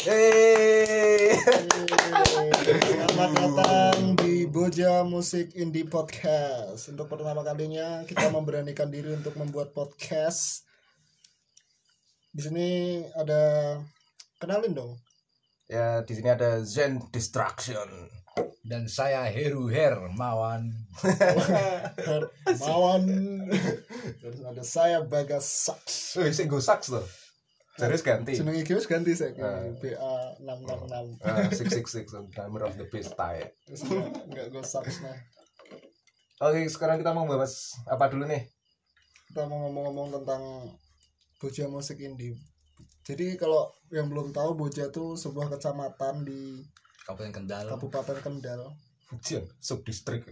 Yeay. Selamat datang di Boja Musik Indie Podcast. Untuk pertama kalinya kita memberanikan diri untuk membuat podcast. Di sini ada, kenalin dong. Ya, di sini ada Zen Distraction. Dan saya Heru Hermawan. Mawan. Terus ada saya Bagas Saks. Wih, sing go sax loh. Serius ganti. Jenenge iki wis ganti saiki. BA 666. 666 Diamond of the Beast tie. Terus enggak go Saks nah. Oke, sekarang kita mau bahas apa dulu nih? Kita mau ngomong-ngomong tentang Boja Musik Indie. Jadi kalau yang belum tahu, Boja itu sebuah kecamatan di Kabupaten Kendal. Kabupaten Kendal. Ujian subdistrik.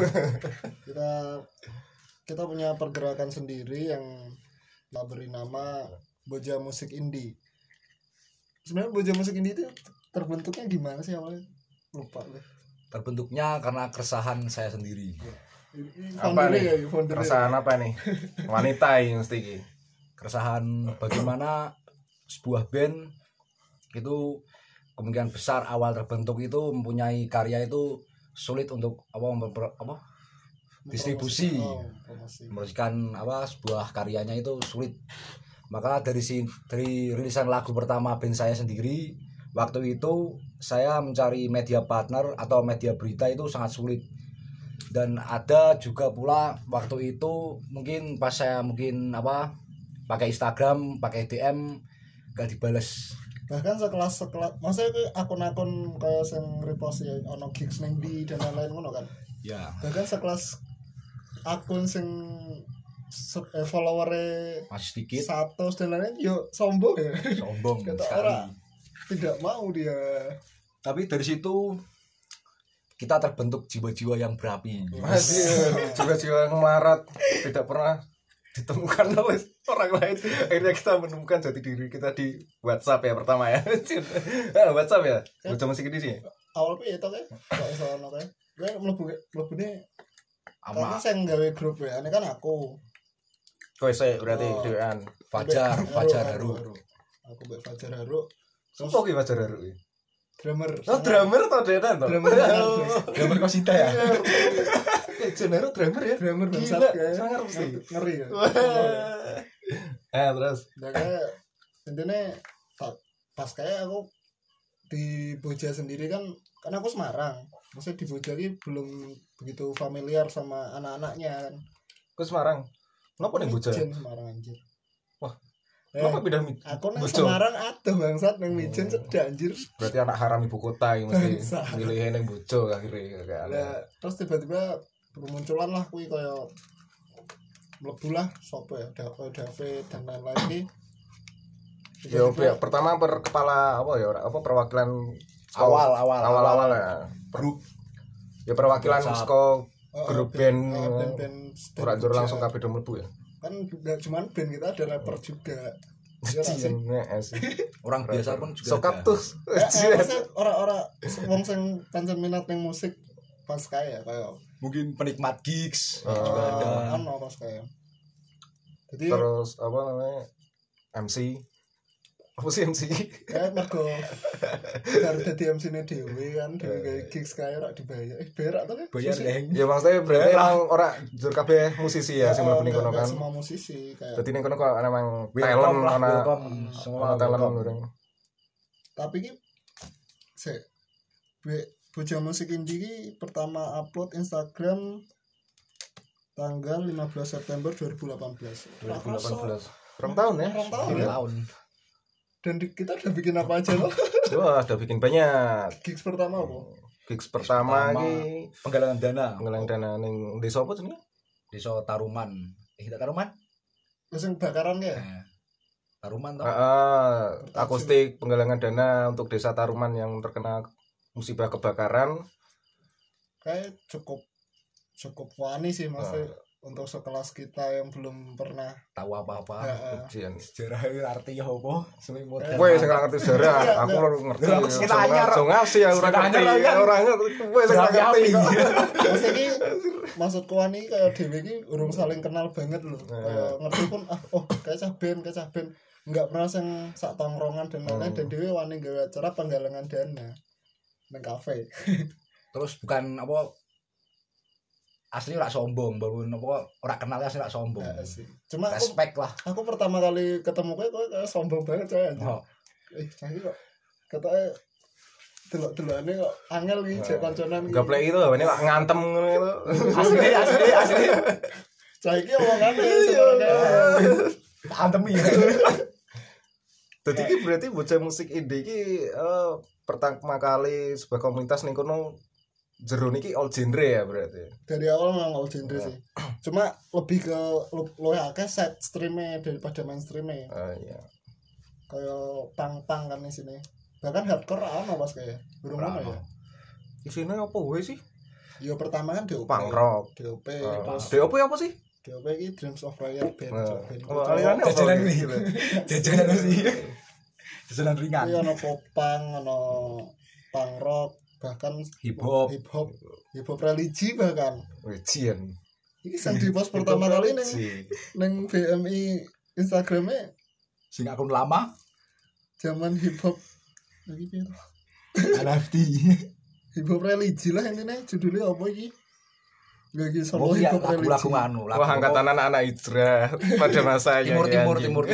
Kita punya pergerakan sendiri yang kita beri nama Boja Musik Indie. Sebenarnya Boja Musik Indie itu terbentuknya gimana sih awalnya? Lupa deh. Terbentuknya karena keresahan saya sendiri. Apa nih? Foundernya. Perasaan apa nih? Wanita yang mesti iki. Keresahan bagaimana sebuah band itu kemungkinan besar awal terbentuk itu mempunyai karya itu sulit untuk distribusi. Promosi. Mempromosikan sebuah karyanya itu sulit. Maka dari rilisan lagu pertama band saya sendiri, waktu itu saya mencari media partner atau media berita itu sangat sulit. Dan ada juga pula waktu itu mungkin pas saya pakai Instagram, pakai DM gak dibales. Bahkan sekelas maksudnya itu akun-akun kayak yang repost ya ono gigs neng di dan lain-lain ngono kan. Ya. Bahkan sekelas akun sing followernya Masih sedikit. 100 dan lain-lain yo sombong ya. Sombong Kata sekali. orang tidak mau dia. Tapi dari situ kita terbentuk jiwa-jiwa yang berapi. Masih jiwa-jiwa yang melarat tidak pernah ditemukan oleh orang lain. Akhirnya kita menemukan jati diri kita di WhatsApp ya pertama ya. WhatsApp ya. Boja Musik Indie sih. Awal piye to kae? Kok iso ono kae? Gue mlebune karena Ama saya nggawe grup ya, ini kan aku. Kowe sih berarti dewean. Fajar Haru. Aku mbek Fajar Haru. Sopo ki Fajar Haru iki? Drummer. Oh, drummer to denan to. Drummer. Gambar Kosita ya. Jenero drummer ya. Drummer bangsat Gila, kae. sangar mesti. Ngeri ya. Terus. Nah kayak intinya pas kayak aku di Boja sendiri kan aku Semarang. Maksudnya di Boja ini belum begitu familiar sama anak-anaknya kan. Ke Semarang. Kenapa nih Boja? Mijen Semarang anjir. Wah. Kenapa pindah Aku nang Boja? Semarang ada bangsat nang Mijen cedak anjir. Berarti anak haram ibu kota yang mesti Bangsat. milih yang Bojo akhirnya kayak aneh. Lah terus tiba-tiba bermunculan lah kuwi kaya mlebu lah sapa ya David dan lain-lain iki. Ya pertama kepala perwakilan Awal ya. Ya perwakilan saka grup band ora jur langsung kabeh do mlebu ya. Kan enggak cuman band kita ada rapper juga. Ya sih. Orang biasa pun juga So ada. Kaktus. Orang-orang wong sing pancen minat ning musik pas kaya Mungkin penikmat gigs Oh. juga ada. ono pas kaya. Jadi Terus apa namanya? MC. Apa sih MC? kayak mergo karo dadi MC-ne dhewe kan dhewe gawe gigs kaya ora dibayar. Bayar atau Bayar deh. Ya maksudnya berarti emang ora jur kabeh musisi ya sing mlebu ning kono kan. Semua musisi kayak. Dadi ning kono kok emang talent Welcome lah, ana welcome. Semua ana talent welcome. orang. Tapi ki Boja Musik Indie ki pertama upload Instagram tanggal 15 September 2018. 2018. Berapa tahun ya? Berapa tahun? 2 tahun. Dan kita udah bikin apa aja loh? Wah, udah bikin banyak. Gigs pertama apa? Gigs pertama iki Penggalangan dana nggalang dana ning desa apa jenenge? Desa Taruman. Tidak Taruman? Terus yang bakaran ya? Taruman toh. Akustik penggalangan dana untuk desa Taruman yang terkena musibah kebakaran. Kayak cukup wani sih maksudnya. untuk sekelas kita yang belum pernah tahu apa-apa. Ujian. Sejarah itu artinya apa? Semi modern. Kowe sing ngerti sejarah, aku ora ngerti. Aku sing anyar. Aja ngasih aku ora ngerti. Ora ngerti. Kowe sing ngerti. Maksudku ani kayak dhewe iki urung saling kenal banget lho. Kayak ngerti pun kayak cah ben enggak pernah sing sak tongkrongan dan lain-lain dan dhewe wani gawe acara penggalangan dana nang kafe. Terus bukan apa asli ora sombong, baru apa ora kenal asli ora sombong. Cuma respect lah. Aku pertama kali ketemu kowe kayak sombong banget coy anjir. Cah iki kok ketoke delok-delokane kok angel iki jek kancanan iki. Gaplek itu ini kok ngantem ngono itu. Asli. Cah iki omongane sebenarnya Antemi. Dadi iki berarti bocah musik indie iki pertama kali sebuah komunitas ning kono jero niki all genre ya berarti. Dari awal memang all genre sih. Cuma lebih ke luwih akeh set stream-e daripada mainstream-e. Iya. Kayak pang-pang kan di sini. Bahkan hardcore ana pas kayak. Burung mana ya? Isine apa wae sih? Yo pertama kan DOP. Punk rock. DOP terus DOP apa sih? DOP iki Dreams of Riot band. Oh, alirannya apa? Jajanan iki. Jajanan sih. Jajanan ringan. Iya ono popang, ono punk rock, bahkan Hip hop religi bahkan. Wejian. Iki sing di post pertama kali ning BMI Instagramnya sing akun lama zaman hip hop iki piye to? NFT. Hip hop religi lah intinya judulnya apa iki? Gak iki solo hip hop religi. Lagu anu. Wah, angkatan anak-anak hijrah pada masanya. Timur.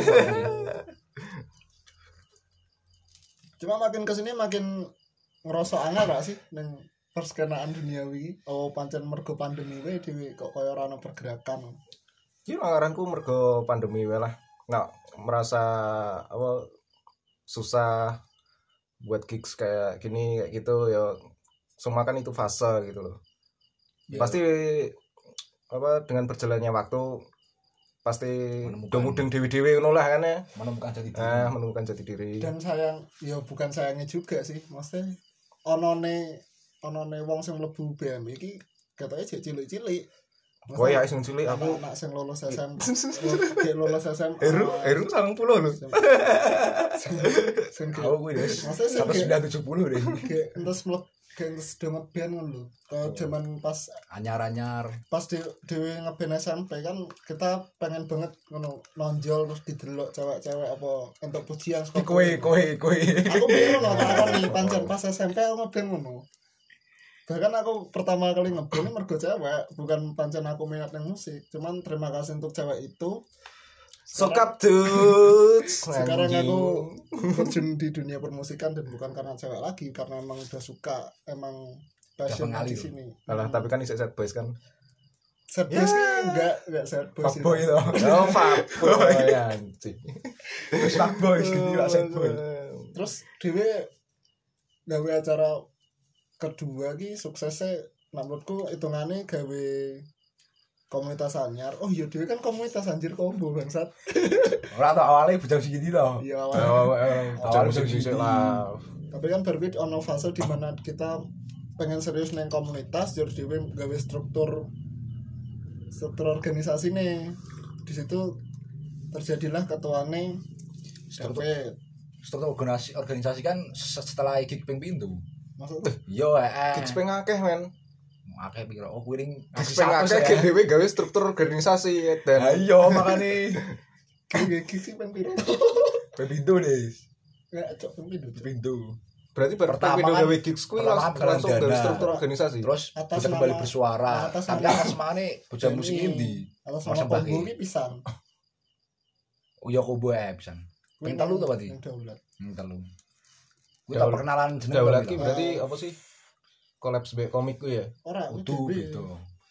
Cuma makin kesini makin ngerasa angel gak sih neng perskenaan duniawi. Oh pancen mergo pandemi wae dhewe kok kaya ora ono pergerakan. Iki ngaranku mergo pandemi wae lah. Nggak merasa apa susah buat gigs kayak gini kayak gitu ya. Semua kan itu fase gitu loh. Ya. Pasti apa dengan berjalannya waktu pasti mudeng dewi-dewi ngono lah kan ya. Menemukan jati diri. Dan sayang ya bukan sayangnya juga sih. Maksudnya onone wong sing mlebu BM iki ketoke jek cilik-cilik. Kowe ya sing cilik aku anak sing lulus SM. Kayak lulus SM. Eru 90 lho. Sing aku kuwi wis sampai 970 deh. Kayak entus do ngeband ngono lho. Kalau zaman pas anyar pas dhewe ngeband SMP kan kita pengen banget ngono nonjol terus didelok cewek-cewek apa entuk pujian saka kowe. Aku bingung aku nih pancen pas SMP aku ngeband ngono. Bahkan aku pertama kali ngeband mergo cewek, bukan pancen aku minat nang musik. Cuman terima kasih untuk cewek itu. Sokap dudes. Sekarang aku terjun di dunia permusikan dan bukan karena cewek lagi, karena emang udah suka, emang passion di sini. Alah, tapi kan iso sad boys kan. Sad boys enggak sad boys. Fuckboy itu. Oh, fuckboy anjing. Terus fuckboy gitu lah sad boy. Terus dhewe gawe acara kedua ki suksesnya menurutku hitungane gawe komunitas anyar. Oh iya dhewe kan komunitas anjir combo bangsat. Ora tau awalnya bujang segini loh. Iya awalnya bujang segini lah. Tapi kan berbeda ono fase di mana kita pengen serius neng komunitas jadi dhewe gawe struktur organisasi nih. Di situ terjadilah ketuane struktur organisasi kan setelah gig ping pintu. Maksudnya? Yo gigs ping akeh men. Akeh pikir kuring gigs ping akeh dhewe gawe struktur organisasi dan ayo makane gigs ping piro? Ping pintu deh. Enggak cok pintu. Berarti pertama kan gawe gigs kuwi langsung dari struktur organisasi. Terus bisa kembali bersuara. Tapi atas semane bocah musik indie. Atas nama combo ki pisan. Oh ya combo pisan. Ping 3 to berarti. Ping 3. Kuwi tak perkenalan jeneng. Daulat ki berarti apa sih? Collapse be komik ku ya? Ora utuh gitu.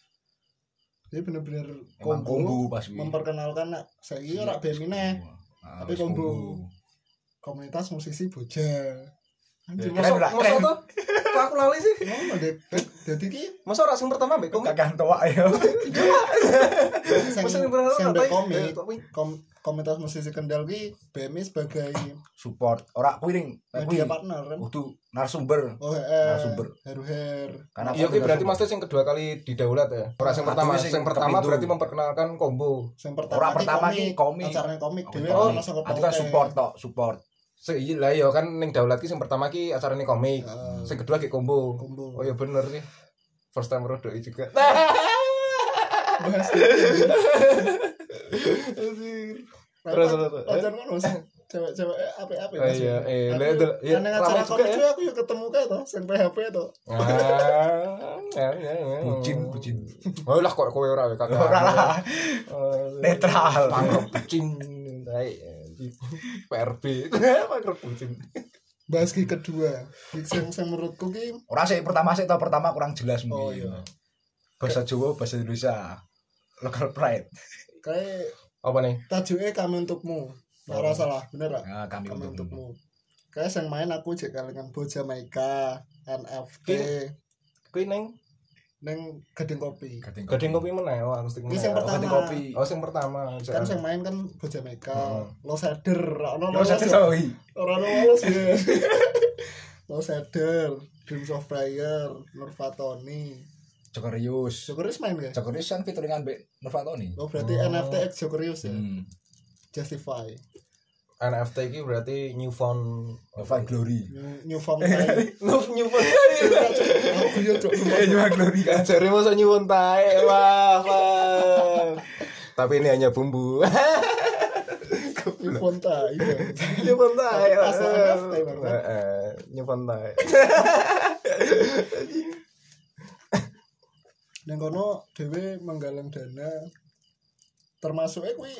Dia bener-bener combo pas memperkenalkan saiki ora bemine. Tapi combo komunitas musisi bocah. Anjir, Keren ora? Masa tuh? Kok aku lali sih? ngono deh. Dadi ki Masa ora sing pertama mbek komik? Kakak tua ya. sing Masa yang bener-bener sing apa ya? komik komunitas musisi Kendal ki BMI sebagai Support ora kuwi ning media partner kan. kudu narasumber. Oh, Narasumber. Heru-her. Karena Iya, ki berarti maksudnya yang kedua kali didaulat ya. Ora sing pertama, Artinya sing sing pertama kepindo. berarti memperkenalkan combo. Sing Ora pertama ki komik. acarane komik dhewe Oh, ora saka itu kan support tok, support. Lah ya kan ning daulat ki sing pertama ki acarane komik. Heeh. Sing kedua ki combo. Combo. Oh iya bener sih. First time rodoi juga. Bahas Terus. Pacar ngono cewek-cewek apik-apik. Oh iya, iya, Nang ramai acara juga komik ya. aku yo ketemu kae to, sing PHP to. Bucin. Oh lah kok kowe ora kakak. Ora lah. Netral. Pangrok bucin. Baik. PRB. Pangrok bucin. Bahas ki kedua. Sing menurutku ki Ora sih pertama kurang jelas oh mungkin. iya. Bahasa Jawa, bahasa Indonesia. Local pride. Kayak Apa nih? tajuke kami untukmu. Ora salah, bener gak? Nah, kami Kami untukmu. untukmu. Kayak sing main aku jek kalengan Boja Maika, NFT, Kuwi ning ning Gading Kopi. Gading kopi meneh, oh akustik Ini meneh. yang Oh, pertama. Gading kopi. Oh, sing pertama. Kan sing main kan Boja Maika, Heeh. Lo Seder, ono Terus ada sawi. ora ono lolos ya. Lo Seder, Dreams of Fire, Nur Fatoni. Jokerius. Jokerius main gak? Jokerius kan featuringan Mbak Nurfatoni. Oh berarti NFT X Jokerius ya. Justify. NFT iki berarti new found Nova Glory. New Form Time. new found. Aku yo cok. Nova Glory kan. Jare masa new found tae. Wah. Tapi ini hanya bumbu. New Form Time. New found tae. Asal NFT, Bang. New found tae. Nang kono dhewe menggalang dana termasuk kuwi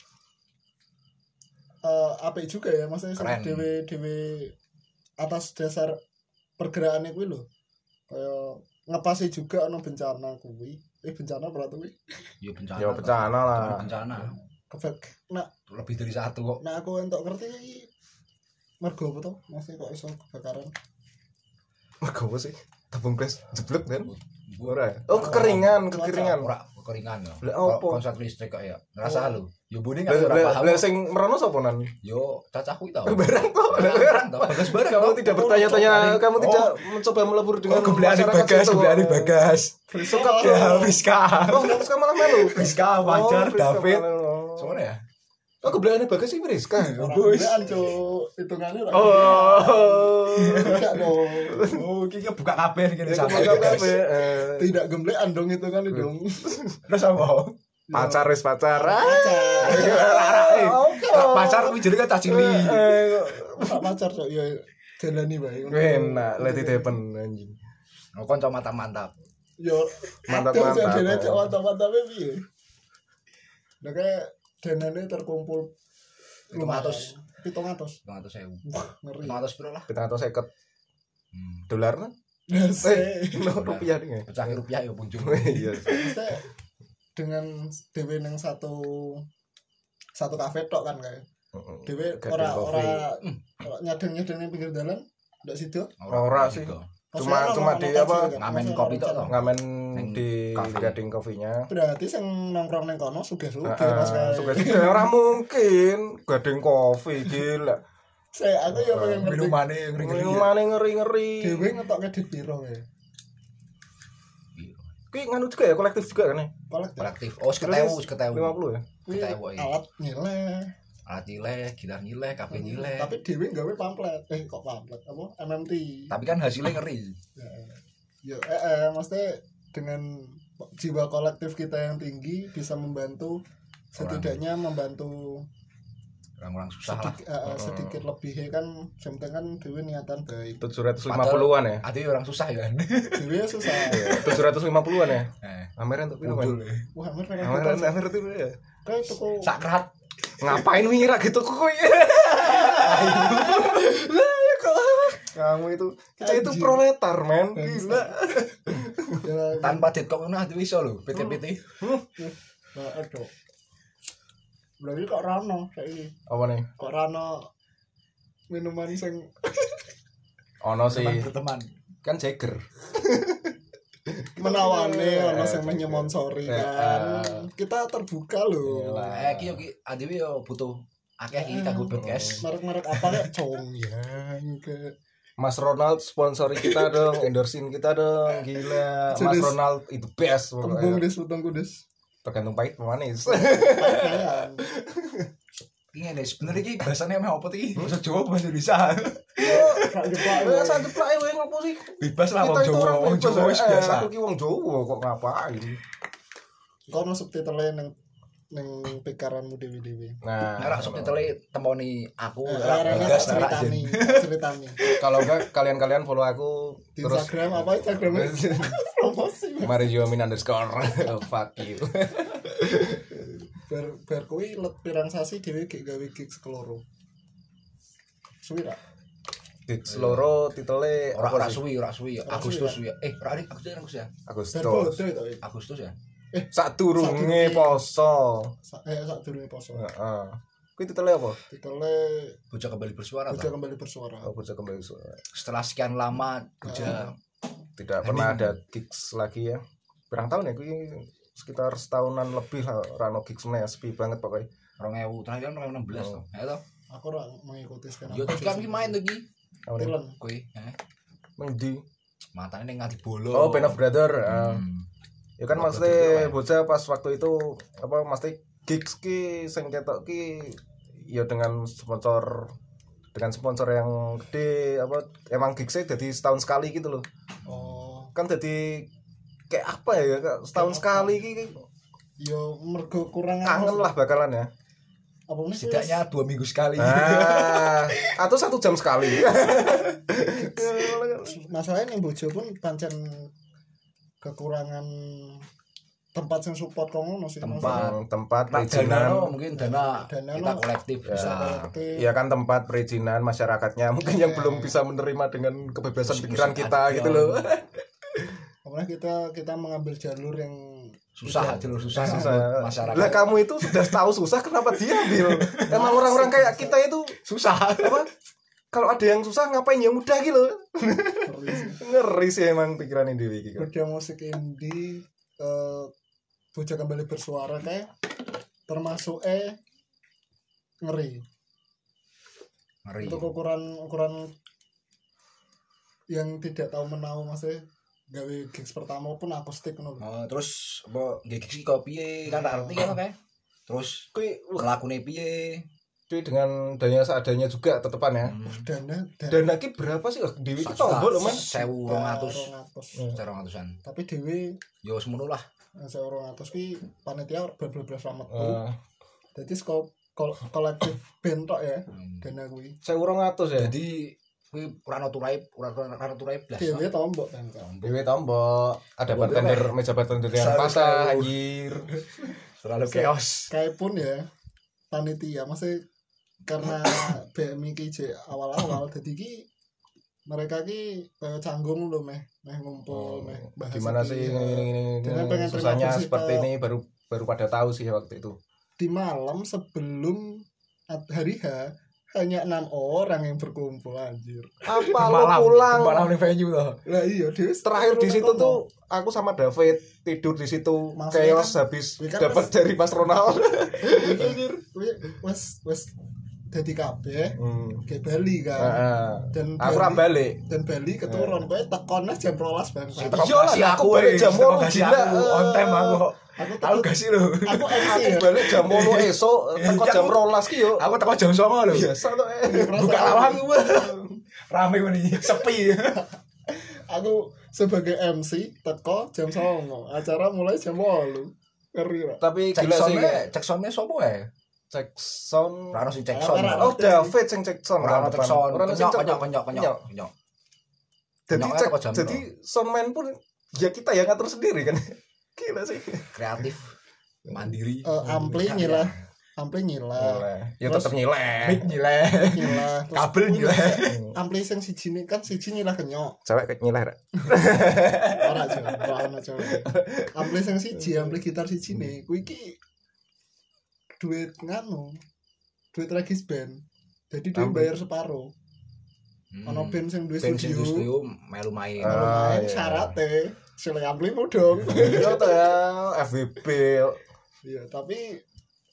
apik juga ya maksudnya Keren. dhewe atas dasar pergerakannya kuwi lho. Kaya ngepasi juga ono bencana kuwi. Bencana berarti kuwi. Ya bencana. Ya bencana lah. Bencana. Nah, Lebih dari satu kok. nah aku entuk ngerti iki mergo apa to? Maksudnya kok iso kebakaran. Mergo apa sih? Tabung gas jeblok kan? Ora. Oh, kekeringan. Ora kekeringan ya. Lah, opo? Konslet listrik kok ya. Ngerasa lho. Ya bune Lah kan ora paham. lah sing merono sapa nan? Yo cacahku itu. Barang toh. Barang toh. Bagas barang. Kamu tidak bertanya-tanya, kamu Oh. tidak mencoba melebur dengan Gebleane masyarakat situ. Bagas. Suka Ya Friska. Oh, nggak suka malah melu. Friska, Fajar, Oh, Friska David. malah. Semuanya ya? Oh, gebleane Bagas sih Friska. Orang cuk, hitungannya ora. Oh. Tidak dong. Oh, iki buka kabeh iki Ya, kabeh. Tidak gemblean dong itu kan dong. Terus apa? Pacar wis pacar. Pacar kuwi jenenge cah cilik. Pak pacar cok ya jalani bae. Enak, let it happen anjing. Oh, kanca mantap-mantap. Yo Mantap-mantap. mantap piye? Lah kayak danane terkumpul 500. 700. 500.000. Ngeri. 500 piro lah. 750 Hmm. dolar nah. Rupiah nih. Pecah rupiah ya punjul. Iya. Maksudnya dengan dhewe nang satu kafe tok kan kayak. Dhewe ora nyadeng-nyadeng ning pinggir dalan ndak sido. Ora sih. Cuma di apa? Ngamen kopi tok toh. Ngamen Ning di kafe. Gading Coffee-nya. Berarti sing nongkrong ning kono sugih-sugih Mas kae. Suka ora mungkin Gading Coffee gila. Saya aku yo pengen ngerti. Minumane ngeri-ngeri. Minumane ngeri-ngeri. Dhewe ngetokke dit piro kae. Kuwi nganu juga ya, kolektif juga kan ya? Kolektif. Oh, seketewu. 50 ya? Kuwi Ketewu, iya. alat nyileh. Alat nyileh, gitar nyileh, kabeh nyileh. Tapi dhewe gawe pamflet. Kok pamflet apa? MMT. Tapi kan hasilnya ngeri. Ya, maksudnya dengan jiwa kolektif kita yang tinggi bisa membantu setidaknya membantu Orang-orang susah lah. sedikit lebih kan yang penting kan dhewe niatan baik. 750-an ya? Ada orang susah ya kan. Dhewe susah. 750-an ya? Eh, Ameran tuh piro, muncul. Man? Wah, Amer itu ya. kayak tuku Sakrat. Ngapain ngira gitu kok? Kamu itu kita itu Anjing. proletar, men. Gila. ya, Tanpa dit kok ngono ati iso lho, PT-PT. aduh. Berarti kok rano saiki. Apa nih? Kok rano minuman sing Ono sih. Berteman. Kan Jagger. Menawani ono sing menyemonsori kan. Kita terbuka loh. Ki adewe yo butuh akeh iki kanggo podcast. Merek-merek apa kayak Congyang ke Mas Ronald sponsori kita dong, endorsein kita dong, gila. Mas Jenis- Ronald itu best tembung pokoknya. des utang kudes. Tergantung pahit apa manis. Kayak Iki ngene sebenarnya iki bahasane meh opo iki? Bahasa Jawa bahasa Indonesia. rak jeplak. Ya satu plak wae ngopo sih? Bebas lah Kita wong itu Jawa, orang wong bebas, Jawa wis biasa. Aku ki wong Jawa kok ngapain? Kono subtitle nang pikaranmu dewi-dewi. Nah, Nek subtitle temoni aku Arane Bagas tak ora ceritani, Jen. tak ceritani. kalau enggak kalian follow aku Di terus Instagram apa Instagramnya? Promosi. Mariomin _ fuck you. Bar kuwi let pirang sasi dhewe gek gawe gigs keloro. Suwi ra? Gigs loro titele Ora apa sih? suwi Agustus ya. Ora Agustus ya. Agustus. Bar bodo itu. Agustus ya. Sadurunge poso. Sak durunge poso. Heeh. Kuwi titele apa? Titele Bocah kembali bersuara Bocah toh. Kembali Bersuara. Oh, bocah kembali suara. Setelah sekian lama Bocah Tidak pernah ada gigs lagi ya. Berang tahun ya kuwi sekitar setahunan lebih lah rano gigs meneh sepi banget pokoknya. 2000 terakhir 2016 toh. Ya toh. Aku ora mengikuti sekarang. Yo kan ki main tuh ki. Apa nih? Tilen. Kuwi, Mengdi. matane ning ngati bolo. Oh, Band of Brother. Ya kan Oh, maksudnya betul, bocah pas waktu itu apa maksudnya gigs ki sing ketok ki ya dengan sponsor yang gede apa emang gigsnya jadi setahun sekali gitu loh. Oh, Kan jadi kayak apa ya Kak? Setahun sekali ki yo mergo kurang kangen lah bakalan ya. Apa meneh? Setidaknya 2 minggu sekali. Atau 1 jam sekali. Masalahnya ning Bojo pun pancen kekurangan tempat yang support kok ngono sih. tempat Nah, dana perizinan. mungkin dana Dana kita no. kolektif bisa. Ya kan tempat perizinan masyarakatnya mungkin yang belum bisa menerima dengan kebebasan pikiran kita gitu loh. Karena kita mengambil jalur yang Susah jalur susah Susah. masyarakat. Lah kamu itu sudah tahu susah kenapa diambil? Emang orang-orang kayak kita itu susah. apa? Kalau ada yang susah ngapain yang mudah gitu. Ngeri sih emang pikiran dewi gitu. Beda musik indie Bocah Kembali Bersuara kayak termasuk ngeri. Ngeri. Untuk ukuran yang tidak tahu menahu maksudnya gawe gigs pertama pun akustik ngono lho. Oh, terus apa gigs kok piye kan tak ngerti kan kayak. Terus Kui lakune piye? dengan dana seadanya juga tetepan ya. Dana ki berapa sih? Dewi ki tombol loh, Man. 1.200. 200. 1.200-an. Tapi Dewi Yo semono lah. 200 ki panitia berblas ramet tuh. Eh, Dadi kolektif band tok ya dana kuwi. 1.200 ya. Jadi kuwi ora ono turai blas. Dewi tombok kan. Dewi tombol, ada bartender meja bartender yang patah anjir. Terlalu chaos. Kayak pun ya panitia masih karena BMI ki je awal-awal dadi ki mereka ki canggung lho meh ngumpul meh bahas Gimana iki, sih ya. ini Dengan pengen susahnya terima seperti kasih ini baru pada tahu sih waktu itu. di malam sebelum hari H hanya 6 orang yang berkumpul anjir. Apa lo pulang? Malam di venue toh. Lah iya Dewi Terakhir di situ tuh aku sama David tidur di situ Maksudnya chaos kan- habis kan dapat pas- dari Mas Ronald. wes dadi kabeh ke Bali kan. Heeh. Dan Aku ora balik. dan Bali keturun kowe tekone jam 12 Bang. Iya lah, aku balik jam 8 gila. on time aku. Tahu gak sih lu? Aku MC Aku ya. balik jam 8 esuk teko jam 12 ki yo. Aku teko jam 09.00 lho. Biasa to. Buka lawang gua. Rame meneh sepi. Aku sebagai MC teko jam 09.00. Acara mulai jam 8. Ngeri lah. Tapi gila sih. Cek soundnya sopo ya? Cek sound. Ora sih cek sound. Ora- Oh, David sing cek sound. Ora cek sound. Ora sing cek. Kenyok. Jadi Kenyoknya cek teko jam jadi soundman pun ya kita yang ngatur sendiri kan. Gila sih. Kreatif. Mandiri. Ampli nyilah. Ampli nyilah. Ya tetep nyileh. Mic nyileh. Nyilah. Terus Kabel nyileh. ampli sing siji kan siji nyilah kenyok. Cewek nyileh. Ora aja, ora ana cewek. Ampli sing siji, ampli gitar siji ne, kuwi iki duit nganu. Duit regis band. Jadi dia Ampli. bayar separuh. Ono band sing duwe band sing studio. studio melu main. Main iya. syaratnya sile ampli dong. Iya tuh ya FWB. Iya, tapi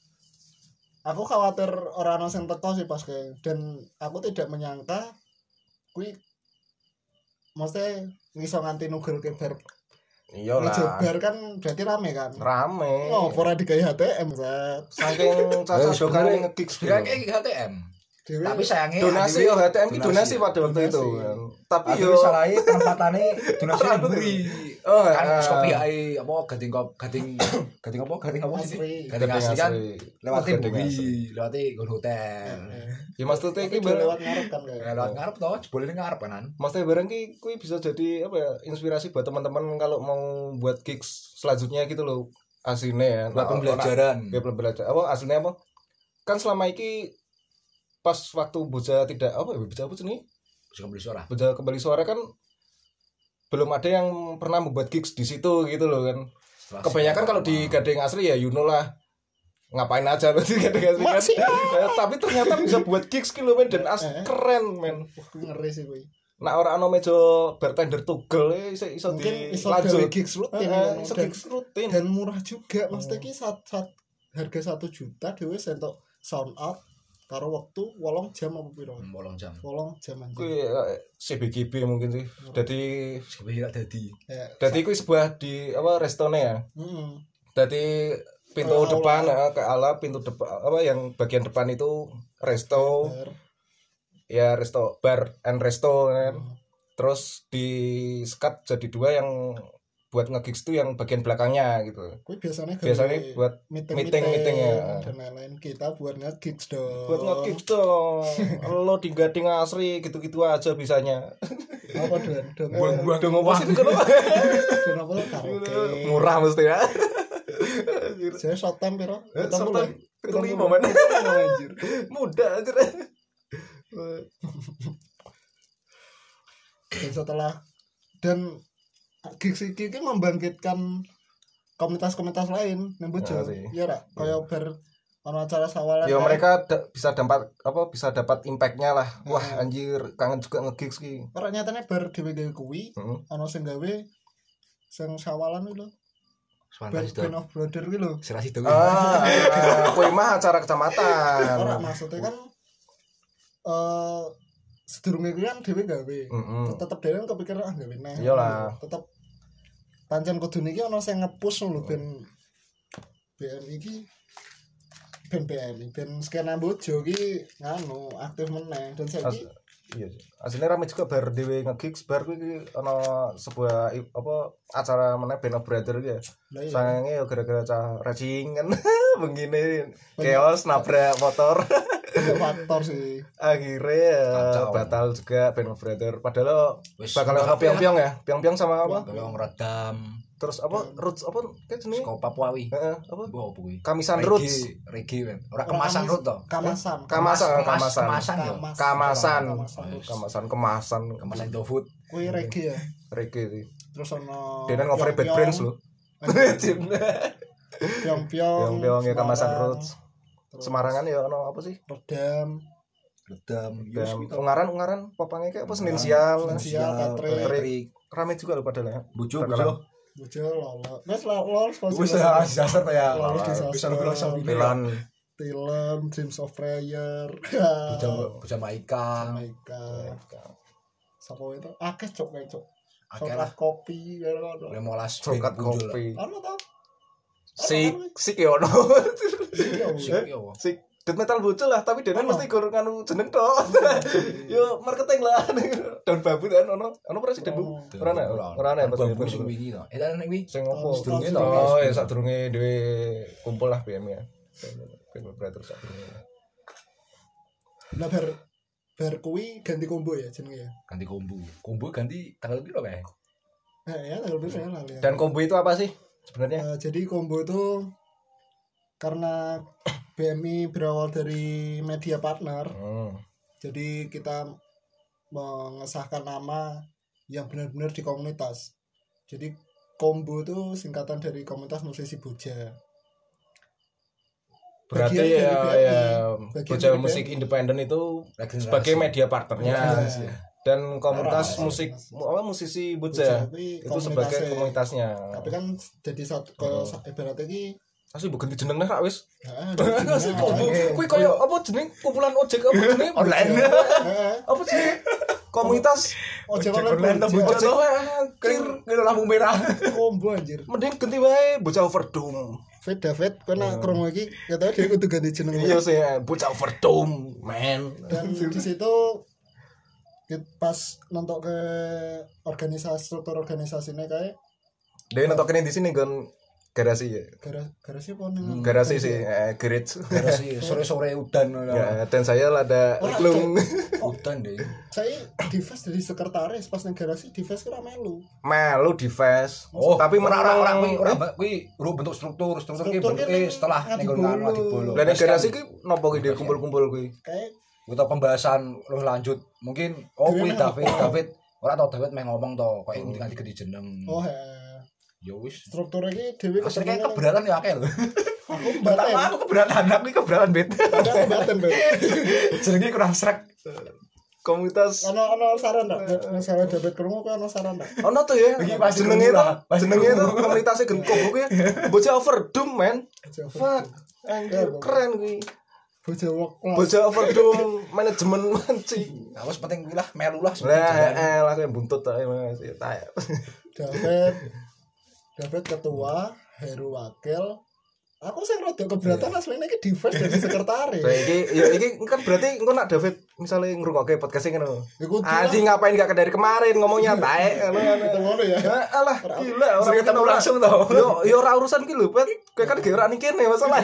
aku khawatir orang ono sing teko sih pas kayak, dan aku tidak menyangka kuwi maksudnya ngiso nganti nugel ke bar. Iya Ngejo lah. bar kan berarti rame kan. Rame. Oh, ora digawe HTM, Zat. Saking caca sekali nge-gigs Kira gitu. HTM. Dewe Tapi sayangnya Donasi yo adewe- HTM ki donasi pada waktu Donasi. itu. Tapi Adewe yo salahnya penempatannya donasi Ora diberi. Oh, Kan ah. kopi ae apa gading apa sih? Asri. Gading Gading asli kan asli. lewati Gading buri, asli. lewati gon hotel. ya maksudnya Tapi ki dia lewat ngarep kan kayak. Lewat ngarep toh, jebule ning ngarep kan. maksudnya bareng ki kuwi bisa jadi apa ya inspirasi buat teman-teman kalau mau buat gigs selanjutnya gitu loh aslinya ya. Buat pembelajaran. Ya pembelajaran. Apa aslinya apa? Kan selama ini pas waktu Boja tidak apa ya Boja apa sih nih? Bisa beli suara. Boja kembali suara kan belum ada yang pernah membuat gigs di situ gitu loh kan. Setelah Kebanyakan kalau di Gading Asri ya you know lah ngapain aja loh di Gading Asri kan. Tapi ternyata bisa buat gigs gitu men dan keren men. Wah, ngeri sih kuwi. Nah orang ano meja bartender tugel iso Mungkin di iso gawe lanjut. gigs rutin Iso dan, gigs rutin. dan murah juga. Maksudnya ki harga 1 juta dhewe sentok sound out karo waktu 8 jam apa piro? 8 jam. 8 jam aja. Kuwi CBGB mungkin sih. Jadi Sebenarnya gak dadi. Ya, Dadi kuwi sebuah di apa restone ya. heeh. Dadi pintu Aula. depan ke ala pintu depan apa yang bagian depan itu resto Bar. ya resto bar and resto kan. Terus di sekat jadi 2 yang buat nge-gigs itu yang bagian belakangnya gitu. Kuwi biasanya Buat meeting ya. dan lain-lain, kita buat nge-gigs dong. Buat nge-gigs dong. Lo di Gading Asri gitu-gitu aja bisanya. apa don Buang-buang Dong apa sih itu kenapa? don apa karaoke. Murah mesti ya. Saya short time piro? Short time, 75 men. men. Anjir. Mudah anjir. Dan setelah dan gigs iki ki membangkitkan komunitas-komunitas lain nang Bojo. Ya sih. Iya ra? Kaya bar ono acara sawalan. Ya kae. mereka bisa dapat impact-nya lah. Wah anjir kangen juga nge-gigs ki. Ora nyatane bar dhewe gawe kuwi, Heeh. ono sing gawe sing sawalan kuwi lho. Fantastis Band of Brother kuwi lho. Serasi itu. Kuwi mah acara kecamatan. Ora maksudnya kan sedurunge kuwi kan dhewe gawe. Heeh. Tetep dhewe kan kepikiran gawe neh. Iyalah. Tetep pancen kudune iki ono sing nge-push lho ben BM iki ben BM ben skena Bojo iki nganu aktif meneh dan saiki Iya sih. Aslinya rame juga bar dhewe nge-gigs bar kuwi ono sebuah acara mana Band of Brother gitu ya. lah iya. Sayangnya ya gara-gara cah racing kan begini chaos nabrak motor. Banyak faktor sih. Akhirnya Kacau. batal juga Band of Brother padahal Wis bakal bakal piong-piong ya. Piong-piong sama apa? Tolong redam. Terus apa? Roots apa? Kayak jenis Saka Papuawi. apa? Mbok opo kuwi? Kamisan Roots. Reggae men. Ora kemasan rut to. Kamasan. Kamasan. Kemasan yo. Kemasan. Kemasan GoFood. Kuwi reggae ya. Reggae sih. Terus ono Dia kan ngover Bad Brains loh. Piong-piong. Piong-piong ya kamasan Semarang, Roots. Semarangan ya ono apa sih? Redam, Redam. Dan ungaran popangnya kayak apa Senin sial. Senin sial, Patrick. Patrick. Rame juga loh padahal ya. Bojo Bakalan. bojo. Bojo lolos. Wes lolos Wis disaster to ya. Lolos disaster. Bisa lu sama Milan. Film Dreams of Prayer. Bojo Maika. Jamaica. Sapa itu? Akeh cok kae cok. Akeh Coklat lah. kopi ya ono. 15 Coklat muncul. kopi. Ono to? Sik ya ono. Sik yo. Sik death metal bocil lah, tapi dene mesti gur nganu jeneng tok. Yo marketing lah. Daun bambu kan ono presiden bu. Ora ana. Ora ana pas Bambu sing wingi to. Edan nek wi. sing opo? Sedurunge to. Oh, ya sadurunge dhewe kumpul lah BM ya. BM Operator sadurunge. Lah bar kuwi ganti combo ya jenenge ya. Ganti kombu. Kombu ganti tanggal piro kae? Ya tanggal berapa ya lali. Dan combo itu apa sih sebenarnya? Jadi combo itu karena BMI berawal dari media partner, jadi kita mengesahkan nama yang benar-benar di komunitas. Jadi combo itu singkatan dari komunitas musisi Boja. Berarti bagian ya, dari ya BMI. Bocah Bagian Musik dari Independen itu Regenerasi. sebagai media partnernya Iya. dan komunitas Parah. musik musisi Bocah Bocah kuwi itu sebagai komunitasnya. tapi kan jadi satu ibaratnya iki Asli bukan jeneng nek wis. Asli Kuwi koyo apa jeneng kumpulan ojek apa jeneng Online. apa jeneng komunitas ojek Ojek online online tembus ojek jatuh. anjir. Kira lampu merah. combo anjir. Mending ganti wae Bocah Overdome. David kena krungu iki katanya dia kudu ganti jeneng. Iya sih Bocah Overdome, man. Dan di situ pas nonton ke struktur organisasinya kayak Dewe nonton di sini kan garasi ya. garasi apa nih? Garasi sih garage. Garasi sore-sore udan. Ya, dan saya ada iklung Udan deh. Saya di fest dari sekretaris pas nang garasi di fest kira melu. melu di fest. Oh, tapi ora menang kuwi bentuk struktur ki Struktur ki bentuke setelah ngadi ning ngono bolo. bolo. Lah ning garasi ki nopo ki Dek, kumpul-kumpul kuwi. Kayak Kita pembahasan lu lanjut. Mungkin kuwi David ora tau David meh ngomong to kok ganti ganti jeneng. oh Ya wis. strukturnya iki dhewe Asline keberatan ya akeh lho. aku baten. Aku keberatan, aku keberatan bet. Aku baten, Bet. Jenenge kurang srek. Komunitas Ono saran ndak? Masalah David krungu kok ono saran ndak? ono tuh ya. Iki pasti Jenenge itu, murah. jenenge itu komunitasnya Genkop kuwi Bocah Overdome, men. Fuck. Anjir keren kuwi. Bocah work class. Bocah Overdome manajemen mancing. Nah, wis penting kuwi lah melu lah. Lah aku yang buntut ta Mas. Taek. David ketua, Heru wakil. Aku sing rada keberatan asline iki defense dari sekretaris. Lah iki kan berarti engko nak David misale ngrungokke podcast iki ngono. Ya kudu. Anjing ngapain gak dari kemarin ngomongnya taek Ngono ya. alah gila Sering orang ketemu langsung to. yo ora urusan ki lho Pet kowe kan ge ora ning kene masalah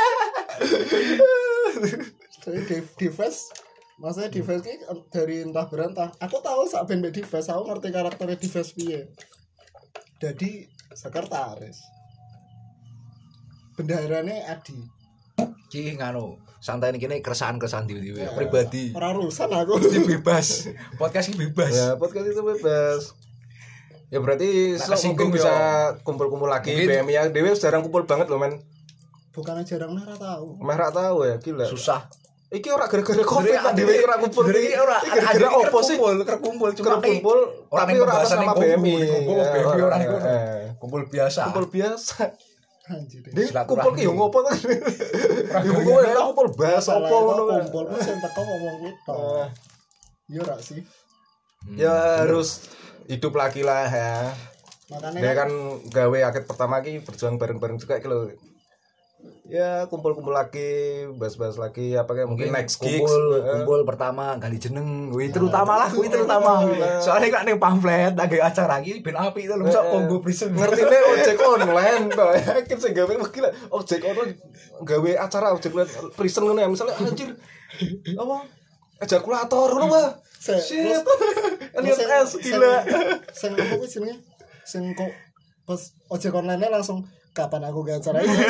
Jadi defense maksudnya defense ki dari entah berantah. Aku tahu sak ben defense, aku ngerti karakternya defense piye. Jadi sekretaris. Bendaharane Adi. Ki nganu, santai kene keresahan-keresahan dhewe-dhewe pribadi. Ora urusan aku. Ini bebas. Podcast ini bebas. ya podcast itu bebas ya berarti Nah, mungkin bisa kumpul-kumpul lagi Mungkin. BMI ya Dewe jarang kumpul banget loh men Bukannya jarang ora tahu. meh ra tahu ya gila Susah. iki ora gara-gara covid lah Dewe ora kumpul Jadi ora gara-gara opo sih kerkumpul cuma kumpul orang tapi yang ora atas pembahasan nama yang BMI kumpul Ya, BMI orang itu kumpul kumpul biasa. biasa Anjir. Dia Silaturahmi. kumpul ki yo ngopo to ya kumpul ya kumpul bahas Masalah opo itu ngono kan. kumpul ku sing teko ngomong gitu. Iya ora sih. Ya harus hidup lagi lah ya. Makanya Dia kan gawe akad pertama ki berjuang bareng-bareng juga ki lho. Ya kumpul-kumpul lagi, bahas-bahas lagi apa kayak mungkin next gigs. kumpul pertama ganti jeneng kuwi terutama lah kuwi terutama soalnya kan ning pamflet lagi acara iki ben apik itu lho sok combo prison Ngertine ojek online to. Yakin sing gawe gila ojek online gawe acara ojek online prison ngono ya misalnya anjir. Apa? Ejakulator ngono Pak. Shit. Elliot S gila. Sing apa kuwi jenenge? Sing kok pas ojek online langsung kapan aku gak acara ini?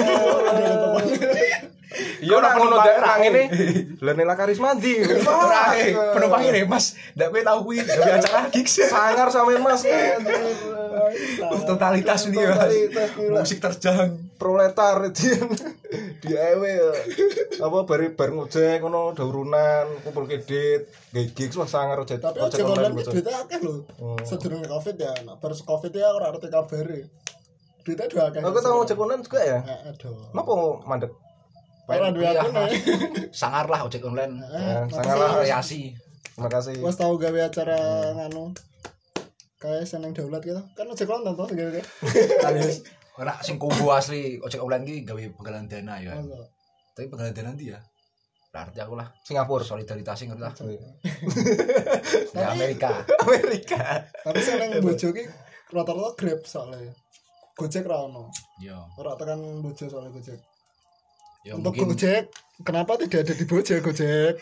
Iya ora ngono daerah ngene. Lah Nela Karismandi. penumpang ini mas ndak kowe tau kuwi gawe acara gigs Sangar sampe Mas. totalitas ini ya Totalitas, gila. musik terjang Proletar di ewe apa bareng ojek ngono daurunan kumpul kedit gigs wah sangar ojek Tapi ojek online bocah. ki duitnya akeh lho. Sedurunge Covid ya, nah bar Covid ya ora arti kabare. Duitnya dua akeh. Aku tau ojek online juga ya. Aduh. Napa mandek? Ora duwe Iya, aku nih. sangar lah ojek online Sangar lah. variasi Terima kasih. Wes tau gawe acara nganu. Kayak seneng daulat gitu. Kan ojek online to segala alias ora sing combo asli ojek online ki gawe penggalan dana ya tapi penggalan dana ndi ya berarti aku lah Singapura. solidaritasnya ngerti lah Iya. ya Amerika Amerika. Tapi seneng bojo ki rata-rata Grab soalnya. Gojek ra ono. ya Ora tekan bojo soalnya Gojek. ya Untuk mungkin Gojek, kenapa tidak ada di Gojek?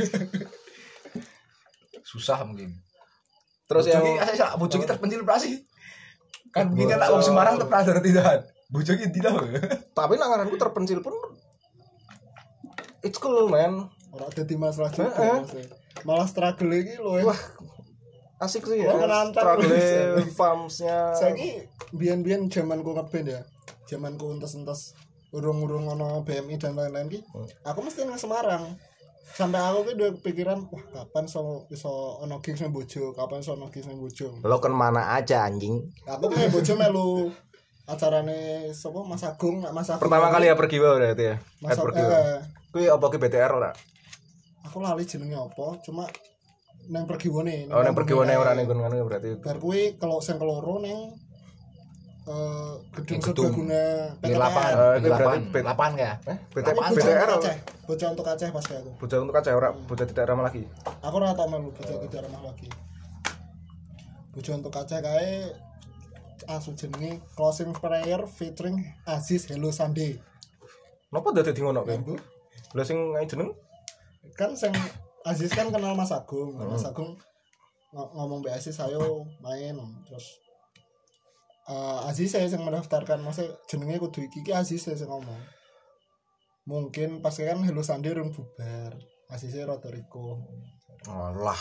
susah mungkin Terus yang bojo ki terpencil berasi kan begini lah wong Semarang tep pernah tidak bojo ki ndi tau tapi nak ngaranku terpencil pun it's cool man. Ora dadi masalah juga. Heeh. maksudnya. Malah struggle iki lho. Wah, asik sih ya. Wah, menantang. Struggle farmsnya. Saiki biyen-biyen zamanku ngeband ya. Zamanku entes-entes urung ono BMI dan lain-lain ki aku mesti nang Semarang sampai aku ki duwe pikiran wah kapan iso ono gigs nang Bojo kapan iso ono gigs nang Bojo Lo kan mana aja anjing. aku nang Bojo melu acarane sapa Mas Agung Pertama kali ya pergi wae berarti ya. Mas Pergi. Kuwi apa ki BTR ora? aku lali jenenge apa cuma nang pergiwone Oh, nang pergiwane ora ning ngono berarti. bar kuwi kalau sing keloro ning gedung Gedung. Serbaguna Di lapangan, itu di berarti lapangan ya. BTR bocah untuk Aceh pas kayak aku bocah untuk kaca ora bocah tidak ramah lagi. aku ora tau melu bocah tidak ramah lagi bocah untuk Aceh kae asu jenenge closing prayer featuring Aziz Hello Sunday Napa dadi ngono kuwi? Lha sing jeneng kan sing Aziz kan kenal Mas Agung Mas Agung ngomong mbak Aziz ayo main terus Aziz saya yang mendaftarkan maksudnya jenenge kudu iki Aziz saya yang ngomong mungkin pas kan Hello Sunday rung bubar Aziz saya rada riko alah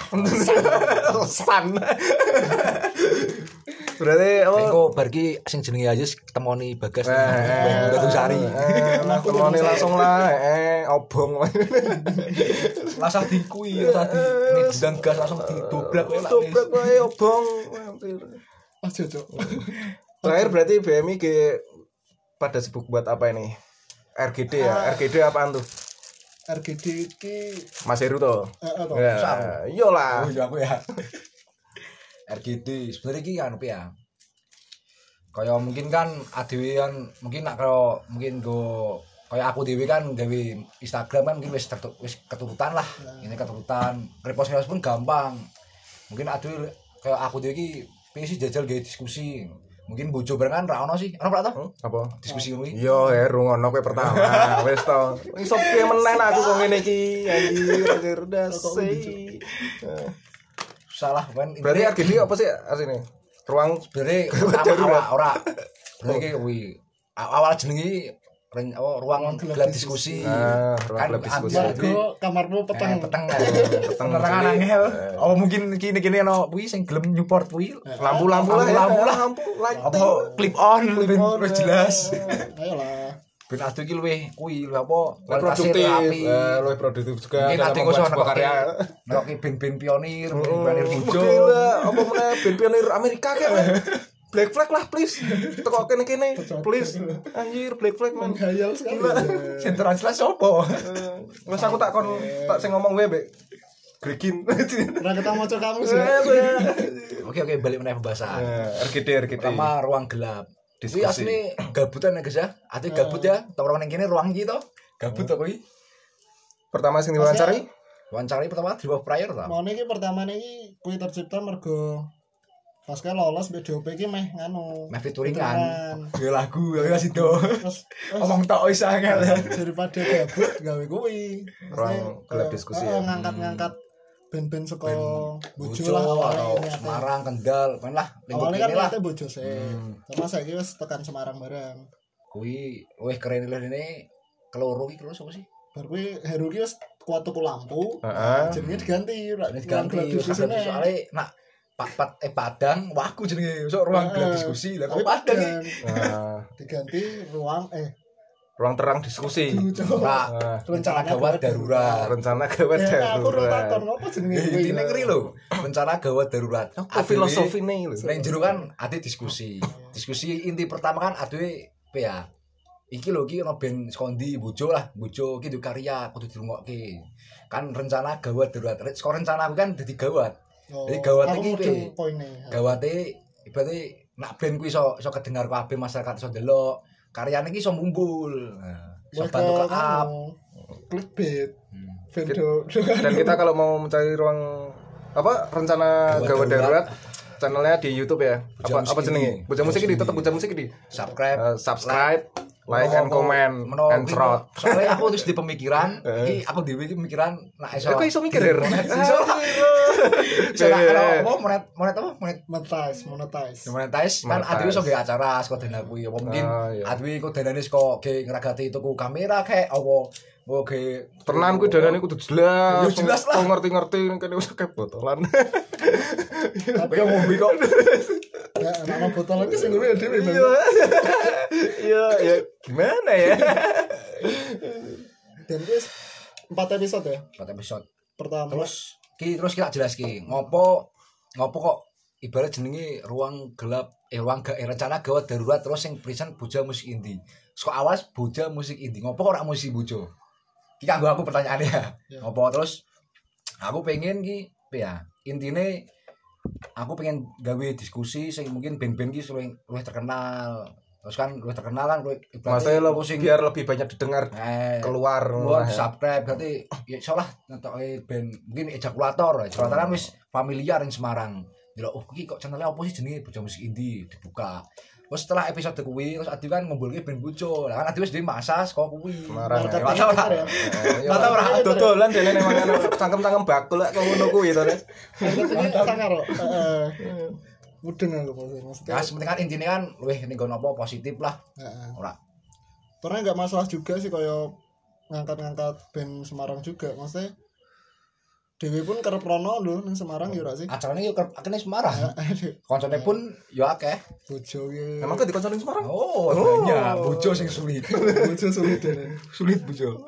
san berarti Engko bar ki sing jenenge Aziz temoni Bagas Batu Sari. Temoni langsung lah obong Lasah dikui tadi ngedang gas langsung didobrak kowe dobrak wae obong aja cok terakhir berarti BMI ke pada sibuk buat apa ini RGD ya RGD apaan tuh RGD ki Mas Heru toh toh. ya iyalah Oh iya aku ya. RGD sebenarnya ki anu ya. Kayak mungkin kan adewe kan mungkin nak kalau mungkin go kayak aku dhewe kan gawe Instagram kan mungkin wis keturutan lah. Ini keturutan. Repost pun gampang. Mungkin adewe kayak aku dhewe ki pengen sih jajal gawe diskusi. Mungkin bojo barengan ra ono sih. Ono pra to? apa Diskusi kuwi. yo Heru ngono kowe pertama wis to iso piye meneh aku kok ngene iki anjir dasi Salah kan. berarti RGD apa sih asline ruang sebenarnya pertama ora berarti kuwi awal jenenge ruang gelap diskusi ruang kan gelap diskusi Margo kamarmu peteng peteng penerangan angel oh mungkin kini ono kuwi sing gelem Newport kuwi lampu-lampu lah lampu apa clip on wis jelas ayolah ben adu iki luwih kuwi apa produktif luwih produktif juga mungkin dalam ade membuat kok sebuah karya neroki ben-ben pionir pionir bojo gila apa meneh band pionir Amerika kayak Black Flag lah please teko kene please anjir Black Flag man menghayal sekali sing jelas opo wes aku tak kon tak sing ngomong wae mbek Gregin ora ketemu cok kamu sih oke balik meneh pembahasan RGD pertama ruang gelap Diskusi. Kuwi asline gabutan ya guys ya. Ate gabut ya. Tawuran ning kene ruang iki to. Gabut to kuwi. pertama sing diwawancari Wawancara pertama di bawah prayer ta. mau niki pertama niki kuwi tercipta mergo pas kae lolos BDOP iki meh nganu Meh featuring kan. Yo lagu ya sido. terus Omong tok wis angel. daripada gabut gawe kuwi ruang gelap diskusi ya. ngangkat band-band saka Bojo Bojo lah atau awalnya Semarang, Kendal, kan lah lingkup awalnya kan ini lah. niatnya Bojo sih sama saiki wis tekan Semarang bareng Kuwi weh keren lho ini keloro iki lho sapa sih? bar kuwi Heru ki wis kuat tuku lampu Heeh. jenenge diganti Ini ganti diskusinya soalnya nak Padang waku jenenge sok ruang gelap diskusi lah kok Padang iki. Nah, diganti ruang ruang terang diskusi Nah, rencana gawat darurat. rencana gawat aku ora takon darurat ngopo jenenge Intine ngeri lho, rencana gawat darurat. apa filosofi nih lho Nek jero kan ade diskusi. Diskusi inti pertama kan adewe ya. Iki lho iki ono band skondi Bojo lah, Bojo iki duwe karya kudu dirungokke. Kan rencana gawat darurat. Saka rencana aku kan dadi gawat. Jadi gawat iki piye? Gawate ibaratnya nak band kuwi iso kedengar kabeh masyarakat iso ndelok. Karyane iki iso mumpul. Nah, iso bantu ke up. Clickbait. dan kita kalau mau mencari ruang apa rencana gawat darurat channelnya di YouTube ya apa jenenge Bojo Musik ini tetap Bojo Musik ini subscribe like and comment and throat soalnya aku terus di pemikiran iki aku dhewe iki pemikiran nak iso kok iso mikir ya monetize kan adewe iso gawe acara saka dana kuwi apa mungkin Oh, iya. adewe iku danane saka gawe ngragati tuku kamera kayak apa Oke, Tenan kuwi darane kudu jelas. Ya jelas lah. Kok ngerti-ngerti kene wis kayak botolan. Tapi yang ngombe kok. ya anak botol lagi sing ngene dhewe. Iya, ya gimana ya? Dan wis 4 episode ya. 4 episode. Pertama. Terus kita jelas ngopo kok ibarat jenenge ruang gelap rencana gawat darurat terus yang pisan Boja Musik Indie. Kok awal Boja Musik Indie. Ngopo kok ora musik bojo? Iki kanggo aku pertanyaannya ya. Ngopo terus aku pengen ki ya intine aku pengen gawe diskusi sing mungkin band-band ki luwih terkenal. Terus kan luwih terkenal kan luwih Maksudnya lo biar lebih banyak didengar keluar subscribe berarti ya isolah ngentoke band mungkin ejakulator kan wis familiar ing Semarang. Delok iki kok channelnya opo sih jenenge Boja Musik Indie dibuka. Terus setelah episode kuwi terus Adi kan ngumpulke band bojo. Lah kan Adi wis dhewe masa saka kuwi. Semarang. Mata ora. Dodolan dene nang cangkem-cangkem bakul kok ngono kuwi to. Sangar. Mudeng aku maksudnya. Ya sepenting kan intine kan luwih ning ngono apa positif lah. Ora. Karena enggak masalah juga sih koyo ngangkat-ngangkat band Semarang juga. Maksudnya Dewi pun kerep rono lho ning Semarang ya ora sih. Acarane yo akene Semarang. Koncone pun yo akeh. Bojo ki. Emang kok dikoncone Semarang? Oh, banyak bojo sing sulit. Bojo sulit dene. Sulit bojo.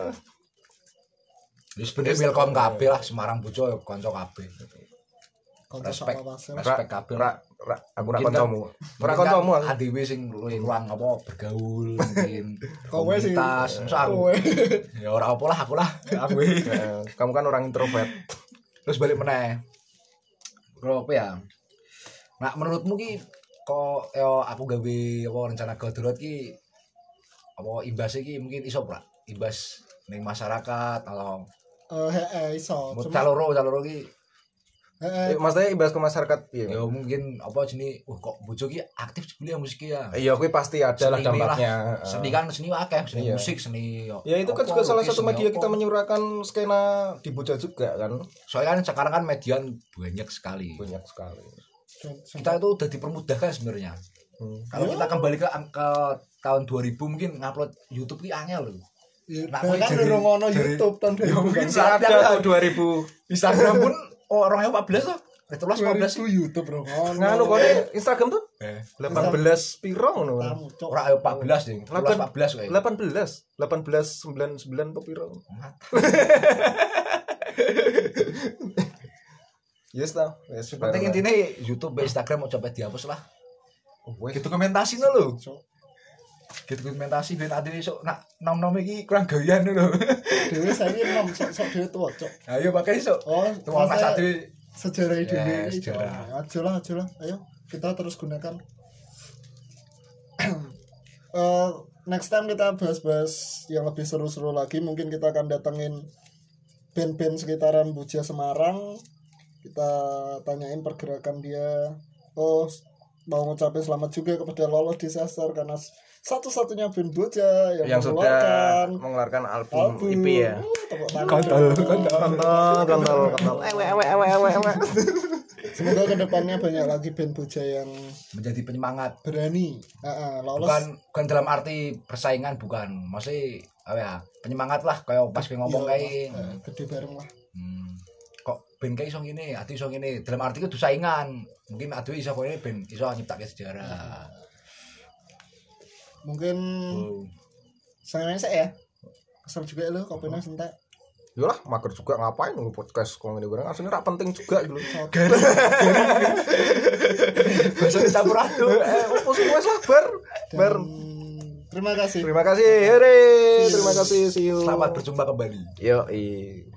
Wis bener welcome kabeh lah Semarang bojo yo kanca kabeh. Respect kabeh. Aku ora kancamu. Ora kancamu aku. Dhewe sing luwih ruang apa bergaul mungkin. Kowe sih. Aku. Ya ora apa lah aku lah. Aku. Kamu kan orang introvert. Terus balik meneh. Bro, apa ya? Nah, menurutmu ki kok yo aku gawe apa rencana darurat ki apa imbas iki mungkin iso ora? Imbas ning masyarakat atau iso. Caloro ki Maksudnya imbas ke masyarakat piye? ya mungkin apa jenis kok bojo ki aktif jebule musik ya. Iya, kuwi pasti ada lah dampaknya. Seni kan seni akeh, seni musik, seni. Ya itu kan juga salah satu media kita menyuarakan skena di Boja juga kan. Soalnya kan sekarang kan media banyak sekali. Banyak sekali. Kita itu udah dipermudahkan sebenarnya. Kalau kita kembali ke tahun 2000 mungkin ngupload YouTube ki angel loh. Nah, kan durung ono YouTube tahun 2000. Mungkin Saat ada 2000 Instagram pun orang 14 tuh. 14 YouTube bro. Nganu kok Instagram tuh? 18 piro ngono. Ora 14 ding. 14 kayak. 18 99 piro. Yes tau. Penting intinya YouTube, Instagram mau coba dihapus lah. Gitu dokumentasi lho. Gitu dokumentasi ben ade esuk nak nom-nom iki kurang gawean lho. Dewe saiki nom sok dhewe tuwa, Cok. Ayo pakai esuk. Tuwa Mas Ade sejarah dhewe iki. Sejarah. Aja lah. Ayo kita terus gunakan. Next time kita bahas-bahas yang lebih seru-seru lagi. Mungkin kita akan datengin band-band sekitaran Boja Semarang. Kita tanyain pergerakan dia. Mau ngucapin selamat juga kepada Lolo Disaster karena satu-satunya band Boja yang sudah mengeluarkan album EP ya. Kontol. Semoga kedepannya banyak lagi band Boja yang menjadi penyemangat, berani. Lolos. Bukan dalam arti persaingan, bukan. Maksudnya apa ya? Penyemangat lah kayak pas ngomong kayak gede bareng lah. Kok band kayak iso ngene, ati iso ngene. Dalam arti itu saingan. Mungkin ati iso kene band iso nyiptake sejarah. Mungkin sayangnya saya ya. Kesel juga lo kopinya sentek. Yalah, mager juga ngapain nunggu podcast kok ngene bareng. Asline ra penting juga gitu. Bisa dicampur aduk. Opo semua sabar. Terima kasih. Terima kasih. Hore. Terima kasih. See you. Selamat berjumpa kembali. Yo.